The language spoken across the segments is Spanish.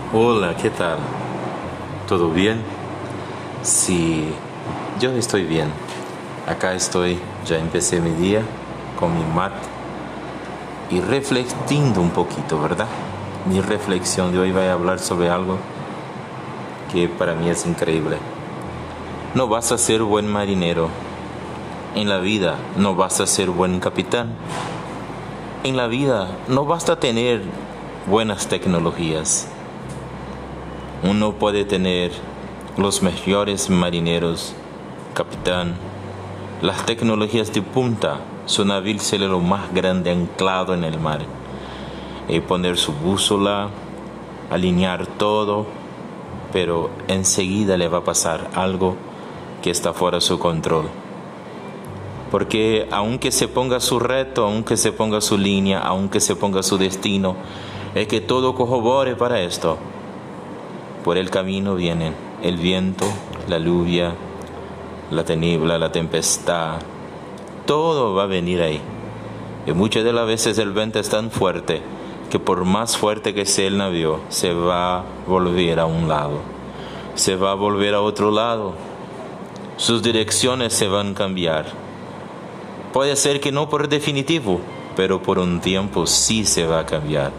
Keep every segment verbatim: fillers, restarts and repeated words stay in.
Hola, ¿qué tal? ¿Todo bien? Sí, yo estoy bien. Acá estoy, ya empecé mi día con mi mat y reflexionando un poquito, ¿verdad? Mi reflexión de hoy va a hablar sobre algo que para mí es increíble. No vas a ser buen marinero. En la vida no vas a ser buen capitán. En la vida no basta tener buenas tecnologías. Uno puede tener los mejores marineros, capitán, las tecnologías de punta, su navío ser lo más grande anclado en el mar, y poner su bússola, alinear todo, pero enseguida le va a pasar algo que está fuera de su control. Porque aunque se ponga su reto, aunque se ponga su línea, aunque se ponga su destino, es que todo corrobore para esto. Por el camino vienen el viento, la lluvia, la tiniebla, la tempestad. Todo va a venir ahí. Y muchas de las veces el viento es tan fuerte que por más fuerte que sea el navío, se va a volver a un lado. Se va a volver a otro lado. Sus direcciones se van a cambiar. Puede ser que no por definitivo, pero por un tiempo sí se va a cambiar.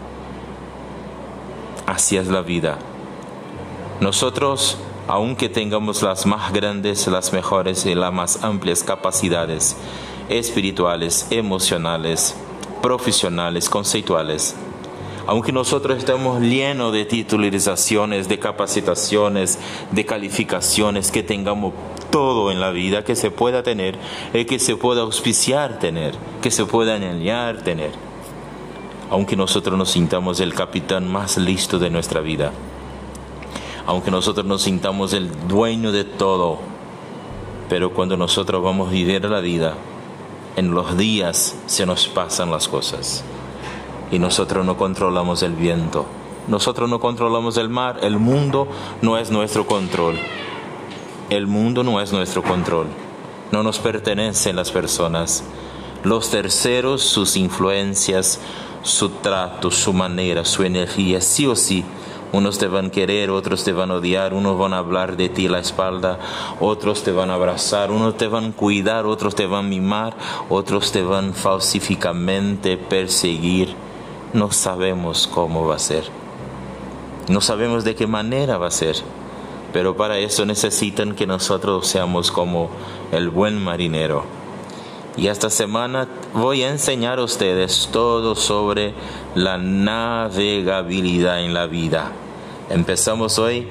Así es la vida. Nosotros, aunque tengamos las más grandes, las mejores y las más amplias capacidades espirituales, emocionales, profesionales, conceptuales, aunque nosotros estemos llenos de titularizaciones, de capacitaciones, de calificaciones, que tengamos todo en la vida que se pueda tener, y que se pueda auspiciar tener, que se pueda anhelar tener, aunque nosotros nos sintamos el capitán más listo de nuestra vida, aunque nosotros nos sintamos el dueño de todo, pero cuando nosotros vamos a vivir la vida, en los días se nos pasan las cosas y nosotros no controlamos el viento, nosotros no controlamos el mar, el mundo no es nuestro control, el mundo no es nuestro control, no nos pertenecen las personas, los terceros, sus influencias, su trato, su manera, su energía, sí o sí. Unos te van a querer, otros te van a odiar, unos van a hablar de ti a la espalda, otros te van a abrazar, unos te van a cuidar, otros te van a mimar, otros te van falsificamente perseguir. No sabemos cómo va a ser, no sabemos de qué manera va a ser, pero para eso necesitan que nosotros seamos como el buen marinero. Y esta semana voy a enseñar a ustedes todo sobre la navegabilidad en la vida. Empezamos hoy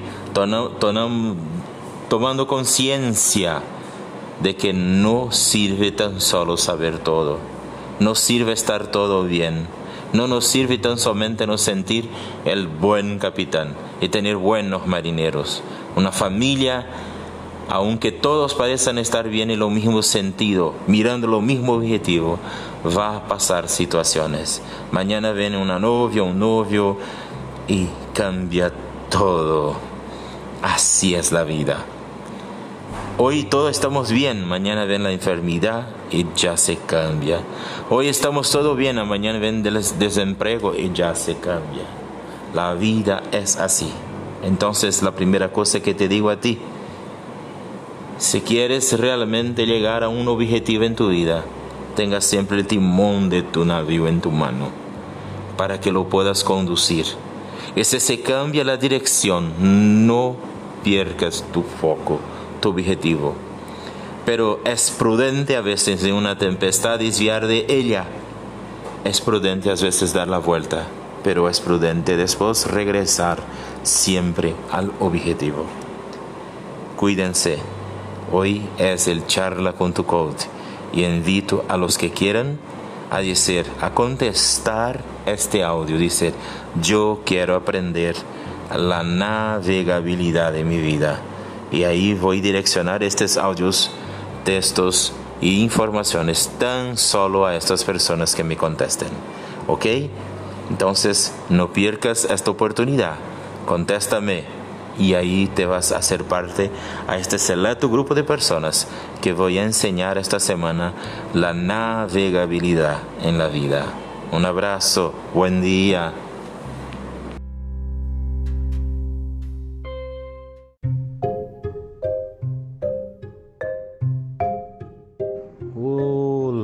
tomando conciencia de que no sirve tan solo saber todo, no sirve estar todo bien, no nos sirve tan solamente no sentir el buen capitán y tener buenos marineros. Una familia, aunque todos parecen estar bien en lo mismo sentido, mirando lo mismo objetivo, va a pasar situaciones. Mañana viene una novia, un novio y cambia todo. Así es la vida. Hoy todos estamos bien, mañana viene la enfermedad y ya se cambia. Hoy estamos todos bien, mañana viene el desempleo y ya se cambia. La vida es así. Entonces la primera cosa que te digo a ti, si quieres realmente llegar a un objetivo en tu vida, tenga siempre el timón de tu navío en tu mano, para que lo puedas conducir. Y si se cambia la dirección, no pierdas tu foco, tu objetivo. Pero es prudente a veces en una tempestad desviar de ella. Es prudente a veces dar la vuelta, pero es prudente después regresar siempre al objetivo. Cuídense. Hoy es el charla con tu coach y invito a los que quieran a decir, a contestar este audio. Dice, yo quiero aprender la navegabilidad de mi vida. Y ahí voy a direccionar estos audios, textos y informaciones tan solo a estas personas que me contesten. ¿Ok? Entonces, no pierdas esta oportunidad. Contéstame. Y ahí te vas a hacer parte a este selecto grupo de personas que voy a enseñar esta semana la navegabilidad en la vida. Un abrazo, buen día.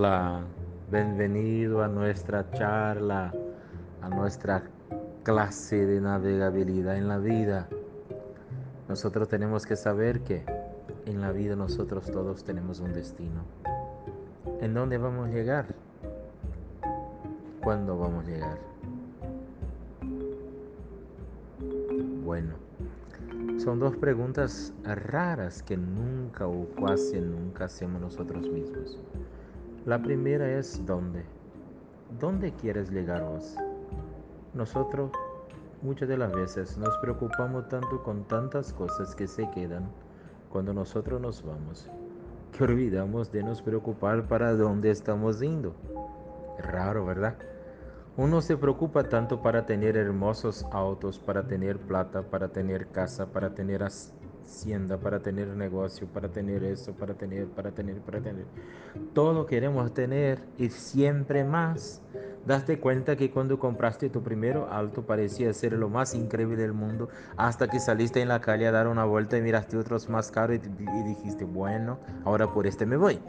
Hola, bienvenido a nuestra charla, a nuestra clase de navegabilidad en la vida. Nosotros tenemos que saber que en la vida nosotros todos tenemos un destino. ¿En dónde vamos a llegar? ¿Cuándo vamos a llegar? Bueno, son dos preguntas raras que nunca o casi nunca hacemos nosotros mismos. La primera es ¿dónde? ¿Dónde quieres llegar vos? Nosotros muchas de las veces nos preocupamos tanto con tantas cosas que se quedan cuando nosotros nos vamos, que olvidamos de nos preocupar para dónde estamos yendo. Raro, ¿verdad? Uno se preocupa tanto para tener hermosos autos, para tener plata, para tener casa, para tener hacienda, para tener negocio, para tener eso, para tener, para tener, para tener. Todo queremos tener y siempre más. Daste cuenta que cuando compraste tu primer auto parecía ser lo más increíble del mundo, hasta que saliste en la calle a dar una vuelta y miraste otros más caros y, y dijiste, bueno, ahora por este me voy.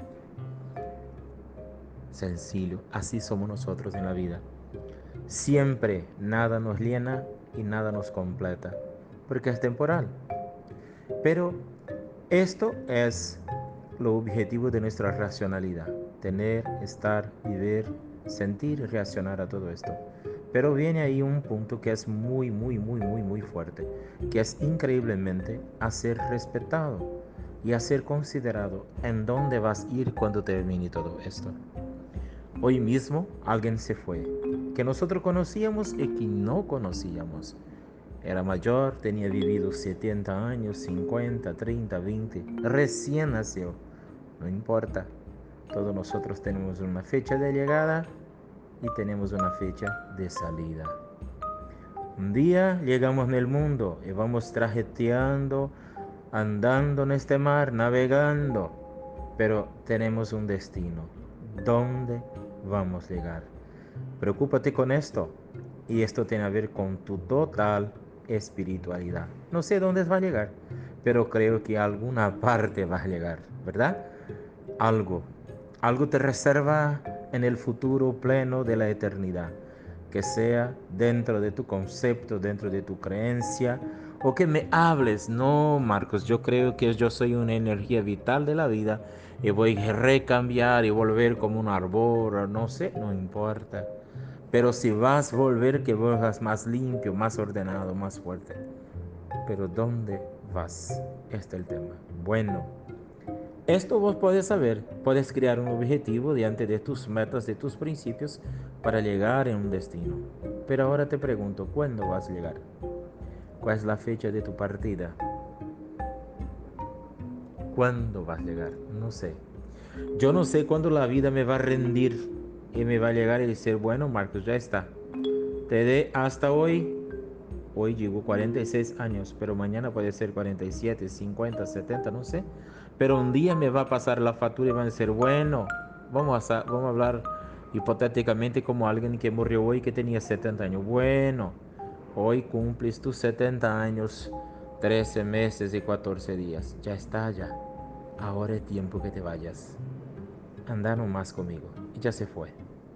Sencillo, así somos nosotros en la vida. Siempre nada nos llena y nada nos completa, porque es temporal. Pero esto es lo objetivo de nuestra racionalidad: tener, estar, vivir, sentir y reaccionar a todo esto. Pero viene ahí un punto que es muy, muy, muy, muy, muy fuerte, que es increíblemente a ser respetado y a ser considerado en dónde vas a ir cuando termine todo esto. Hoy mismo alguien se fue, que nosotros conocíamos y que no conocíamos. Era mayor, tenía vivido setenta años, cincuenta, treinta, veinte, recién nació. No importa, todos nosotros tenemos una fecha de llegada y tenemos una fecha de salida. Un día llegamos en el mundo y vamos trajeteando, andando en este mar, navegando, pero tenemos un destino. ¿Dónde vamos a llegar? Preocúpate con esto, y esto tiene que ver con tu total espiritualidad. No sé dónde va a llegar, pero creo que a alguna parte va a llegar, ¿verdad? Algo, algo te reserva en el futuro pleno de la eternidad, que sea dentro de tu concepto, dentro de tu creencia, o que me hables. No, Marcos, yo creo que yo soy una energía vital de la vida y voy a recambiar y volver como un árbol, no sé, no importa. Pero si vas a volver, que vuelvas más limpio, más ordenado, más fuerte. Pero ¿dónde vas? Este es el tema. Bueno, esto vos podés saber. Puedes crear un objetivo diante de tus metas, de tus principios, para llegar a un destino. Pero ahora te pregunto, ¿cuándo vas a llegar? ¿Cuál es la fecha de tu partida? ¿Cuándo vas a llegar? No sé. Yo no sé cuándo la vida me va a rendir y me va a llegar y decir, bueno, Marcos, ya está. Te dé hasta hoy. Hoy llevo cuarenta y seis años, pero mañana puede ser cuarenta y siete, cincuenta, setenta, no sé. Pero un día me va a pasar la factura y van a decir, bueno, vamos a, vamos a hablar hipotéticamente como alguien que murió hoy que tenía setenta años. Bueno, hoy cumples tus setenta años, trece meses y catorce días. Ya está, ya. Ahora es tiempo que te vayas. Anda nomás conmigo. Y ya se fue.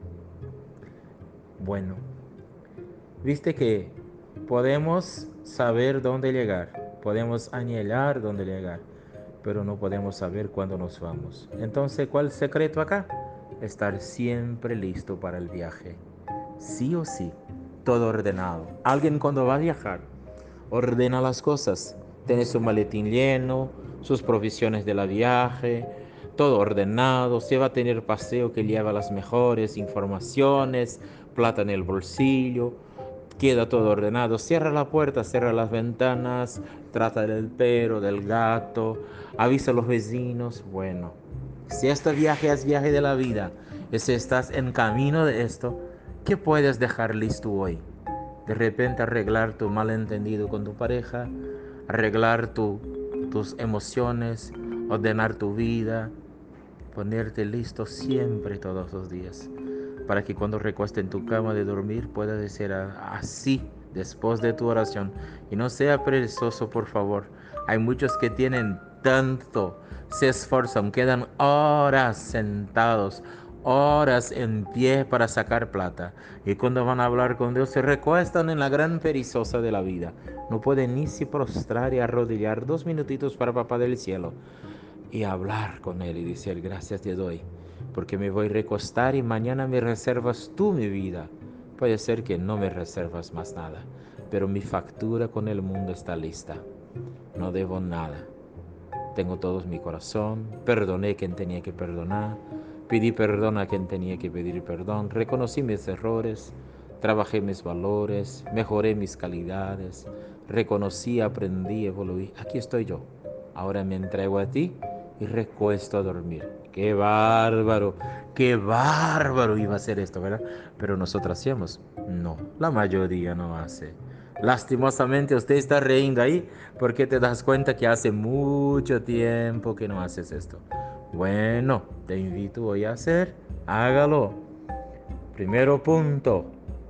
Bueno, viste que podemos saber dónde llegar, podemos anhelar dónde llegar, pero no podemos saber cuándo nos vamos. Entonces, ¿cuál es el secreto acá? Estar siempre listo para el viaje. Sí o sí, todo ordenado. Alguien cuando va a viajar, ordena las cosas. Tiene su maletín lleno, sus provisiones de la viaje, todo ordenado. Se va a tener paseo que lleva las mejores informaciones, plata en el bolsillo. Queda todo ordenado. Cierra la puerta, cierra las ventanas, trata del perro, del gato, avisa a los vecinos. Bueno, si este viaje es viaje de la vida y si estás en camino de esto, ¿qué puedes dejar listo hoy? De repente arreglar tu malentendido con tu pareja, arreglar tu, tus emociones, ordenar tu vida, ponerte listo siempre todos los días, para que cuando recueste en tu cama de dormir puedas decir así después de tu oración. Y no sea perezoso, por favor. Hay muchos que tienen tanto, se esfuerzan, quedan horas sentados, horas en pie para sacar plata. Y cuando van a hablar con Dios, se recuestan en la gran perezosa de la vida. No pueden ni si prostrar y arrodillar dos minutitos para Papá del Cielo y hablar con Él y decir: gracias te doy, porque me voy a recostar y mañana me reservas tú mi vida. Puede ser que no me reservas más nada, pero mi factura con el mundo está lista. No debo nada. Tengo todo en mi corazón, perdoné a quien tenía que perdonar, pedí perdón a quien tenía que pedir perdón, reconocí mis errores, trabajé mis valores, mejoré mis calidades, reconocí, aprendí, evoluí. Aquí estoy yo. Ahora me entrego a ti y recuesto a dormir. ¡Qué bárbaro! ¡Qué bárbaro iba a ser esto, ¿verdad? Pero nosotros hacemos. No, la mayoría no hace. Lastimosamente usted está riendo ahí porque te das cuenta que hace mucho tiempo que no haces esto. Bueno, te invito hoy a hacer, hágalo. Primero punto,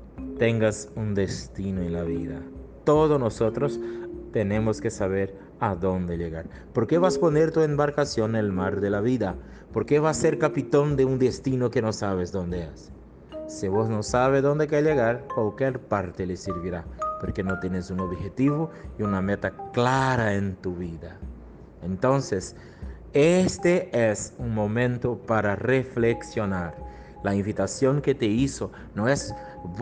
tengas un destino en la vida. Todos nosotros tenemos que saber a dónde llegar. ¿Por qué vas a poner tu embarcación en el mar de la vida? ¿Por qué vas a ser capitán de un destino que no sabes dónde es? Si vos no sabes dónde hay que llegar, cualquier parte le servirá, porque no tienes un objetivo y una meta clara en tu vida. Entonces, este es un momento para reflexionar. La invitación que te hizo no es,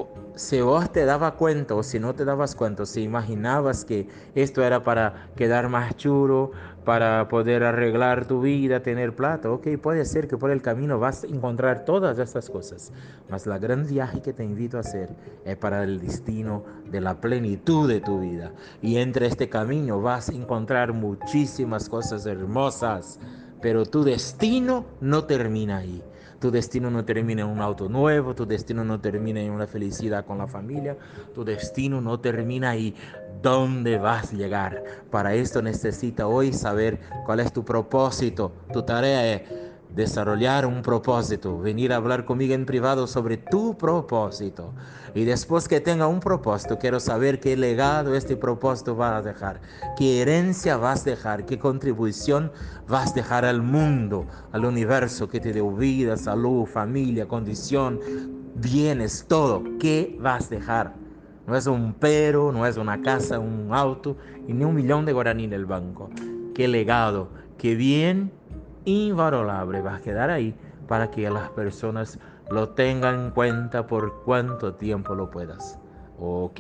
si vos te dabas cuenta o si no te dabas cuenta, si imaginabas que esto era para quedar más chulo, para poder arreglar tu vida, tener plata, ok, puede ser que por el camino vas a encontrar todas estas cosas, mas la gran viaje que te invito a hacer es para el destino de la plenitud de tu vida. Y entre este camino vas a encontrar muchísimas cosas hermosas, pero tu destino no termina ahí. Tu destino no termina en un auto nuevo, tu destino no termina en una felicidad con la familia, tu destino no termina ahí. ¿Dónde vas a llegar? Para esto necesitas hoy saber cuál es tu propósito. Tu tarea es desarrollar un propósito, venir a hablar conmigo en privado sobre tu propósito. Y después que tenga un propósito, quiero saber qué legado este propósito va a dejar, qué herencia vas a dejar, qué contribución vas a dejar al mundo, al universo que te dio vida, salud, familia, condición, bienes, todo. ¿Qué vas a dejar? No es un pero, no es una casa, un auto y ni un millón de guaraní en el banco. Qué legado, qué bien invalorable va a quedar ahí para que las personas lo tengan en cuenta por cuánto tiempo lo puedas. Ok,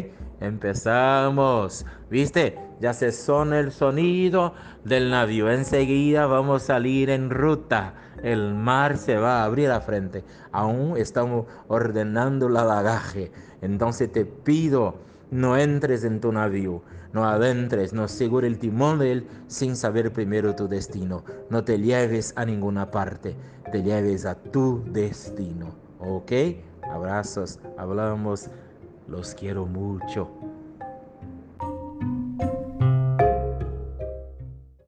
empezamos. ¿Viste? Ya se suena el sonido del navío. Enseguida vamos a salir en ruta. El mar se va a abrir a frente. Aún estamos ordenando el bagaje. Entonces te pido, no entres en tu navío. No adentres, no asegure el timón de él sin saber primero tu destino. No te lleves a ninguna parte, te lleves a tu destino. ¿Ok? Abrazos, hablamos, los quiero mucho.